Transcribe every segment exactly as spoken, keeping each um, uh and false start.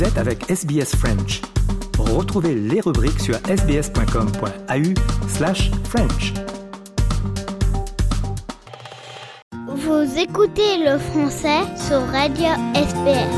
Vous êtes avec S B S French. Retrouvez les rubriques sur sbs.com.au slash French. Vous écoutez le français sur Radio S B S.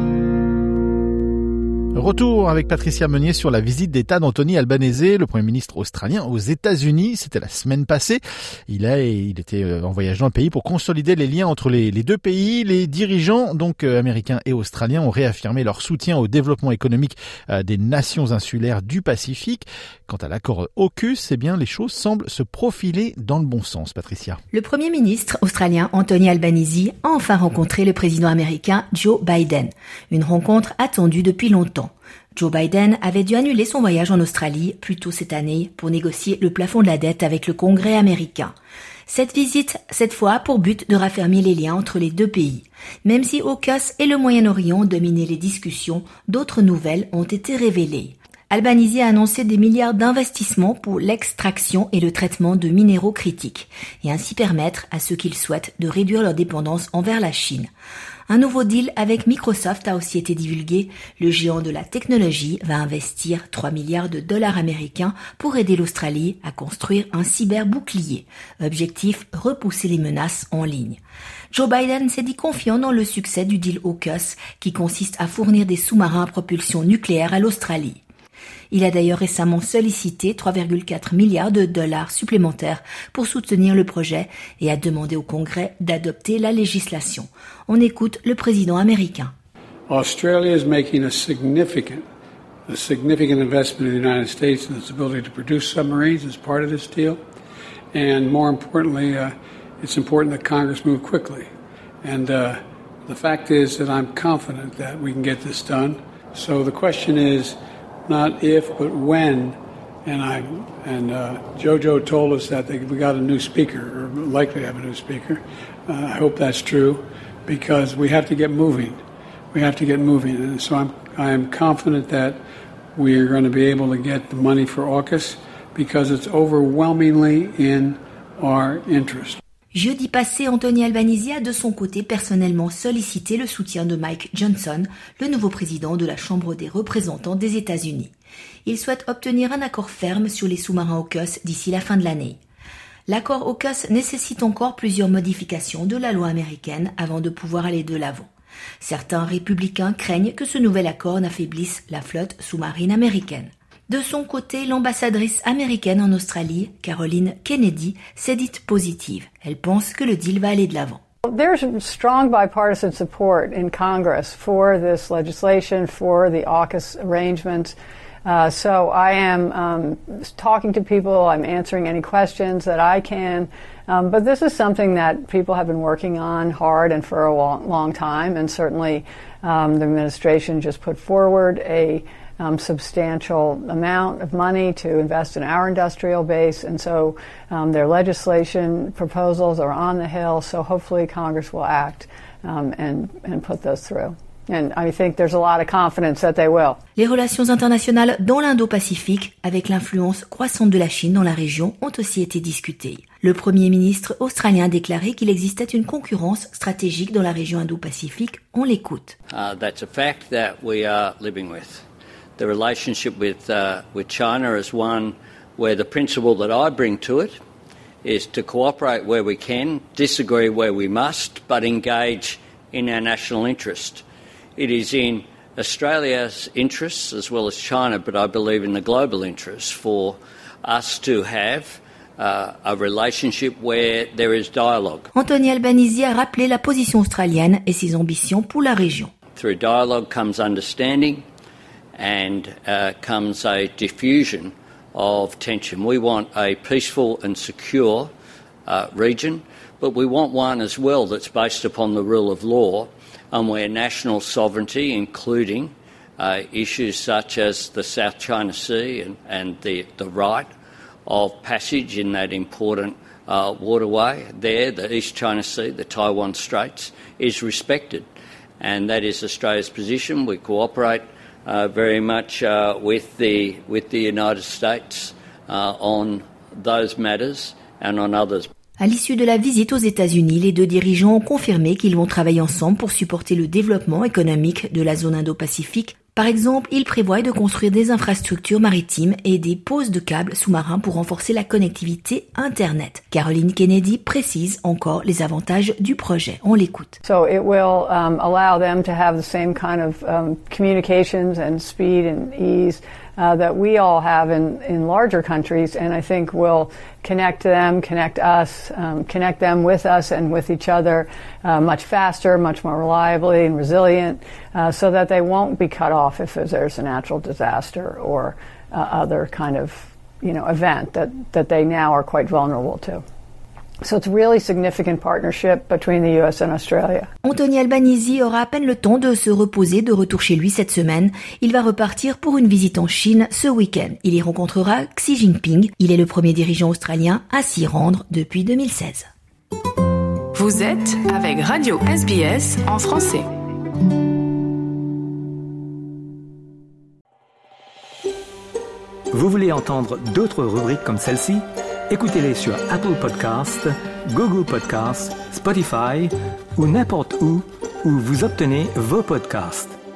Retour avec Patricia Meunier sur la visite d'État d'Anthony Albanese, le Premier ministre australien, aux États-Unis. C'était la semaine passée. Il a, il était en voyage dans le pays pour consolider les liens entre les, les deux pays. Les dirigeants, donc euh, américains et australiens, ont réaffirmé leur soutien au développement économique euh, des nations insulaires du Pacifique. Quant à l'accord AUKUS, eh bien, les choses semblent se profiler dans le bon sens. Patricia. Le Premier ministre australien Anthony Albanese a enfin rencontré le président américain Joe Biden. Une rencontre attendue depuis longtemps. Joe Biden avait dû annuler son voyage en Australie plus tôt cette année pour négocier le plafond de la dette avec le Congrès américain. Cette visite, cette fois, a pour but de raffermir les liens entre les deux pays. Même si AUKUS et le Moyen-Orient dominaient les discussions, d'autres nouvelles ont été révélées. Albanese a annoncé des milliards d'investissements pour l'extraction et le traitement de minéraux critiques, et ainsi permettre à ceux qui le souhaitent de réduire leur dépendance envers la Chine. Un nouveau deal avec Microsoft a aussi été divulgué. Le géant de la technologie va investir trois milliards de dollars américains pour aider l'Australie à construire un cyberbouclier. Objectif, repousser les menaces en ligne. Joe Biden s'est dit confiant dans le succès du deal AUKUS, qui consiste à fournir des sous-marins à propulsion nucléaire à l'Australie. Il a d'ailleurs récemment sollicité trois virgule quatre milliards de dollars supplémentaires pour soutenir le projet et a demandé au Congrès d'adopter la législation. On écoute le président américain. Australia is making a significant, a significant investment in the United States in its ability to produce submarines as part of this deal. And more importantly, uh, it's important that Congress move quickly. And uh, the fact is that I'm confident that we can get this done. So the question is, not if, but when. And I and uh, Jojo told us that they, we got a new speaker, or likely have a new speaker. Uh, I hope that's true, because we have to get moving. We have to get moving, and so I'm I am confident that we are going to be able to get the money for AUKUS, because it's overwhelmingly in our interest. Jeudi passé, Anthony Albanese a de son côté personnellement sollicité le soutien de Mike Johnson, le nouveau président de la Chambre des représentants des États-Unis. Il souhaite obtenir un accord ferme sur les sous-marins AUKUS d'ici la fin de l'année. L'accord AUKUS nécessite encore plusieurs modifications de la loi américaine avant de pouvoir aller de l'avant. Certains républicains craignent que ce nouvel accord n'affaiblisse la flotte sous-marine américaine. De son côté, l'ambassadrice américaine en Australie, Caroline Kennedy, s'est dite positive. Elle pense que le deal va aller de l'avant. There's strong bipartisan support in Congress for this legislation, for the AUKUS arrangements. Uh, so I am um, talking to people, I'm answering any questions that I can. Um, but this is something that people have been working on hard and for a long, long time. And certainly um, the administration just put forward a Um, substantial amount of money to invest in our industrial base, and so um, their legislation proposals are on the Hill, so hopefully Congress will act um, and, and put those through. And I think there's a lot of confidence that they will. Les relations internationales dans l'Indo-Pacifique, avec l'influence croissante de la Chine dans la région, ont aussi été discutées. Le Premier ministre australien a déclaré qu'il existait une concurrence stratégique dans la région Indo-Pacifique. On l'écoute. Uh, that's a fact that we are living with. The relationship with uh, with China is one where the principle that I bring to it is to cooperate where we can, disagree where we must, but engage in our national interest. It is in Australia's interests as well as China, but I believe in the global interest for us to have uh, a relationship where there is dialogue. Anthony Albanese a rappelé la position australienne et ses ambitions pour la région. Through dialogue comes understanding, and uh, comes a diffusion of tension. We want a peaceful and secure uh, region, but we want one as well that's based upon the rule of law and where national sovereignty, including uh, issues such as the South China Sea and, and the, the right of passage in that important uh, waterway there, the East China Sea, the Taiwan Straits, is respected. And that is Australia's position. We cooperate Uh, very much uh, with the with the United States uh, on those matters and on others. À l'issue de la visite aux États-Unis, les deux dirigeants ont confirmé qu'ils vont travailler ensemble pour supporter le développement économique de la zone Indo-Pacifique Par exemple, il prévoit de construire des infrastructures maritimes et des poses de câbles sous-marins pour renforcer la connectivité Internet. Caroline Kennedy précise encore les avantages du projet. On l'écoute. So it will um, allow them to have the same kind of um, communications and speed and ease Uh, that we all have in, in larger countries, and I think will connect them, connect us, um, connect them with us and with each other uh, much faster, much more reliably and resilient, uh, so that they won't be cut off if there's a natural disaster or uh, other kind of, you know, event that, that they now are quite vulnerable to. So it's a really significant partnership between the U S and Australia. Anthony Albanese aura à peine le temps de se reposer de retour chez lui cette semaine. Il va repartir pour une visite en Chine ce week-end. Il y rencontrera Xi Jinping. Il est le premier dirigeant australien à s'y rendre depuis deux mille seize. Vous êtes avec Radio S B S en français. Vous voulez entendre d'autres rubriques comme celle-ci? Écoutez-les sur Apple Podcasts, Google Podcasts, Spotify ou n'importe où où vous obtenez vos podcasts.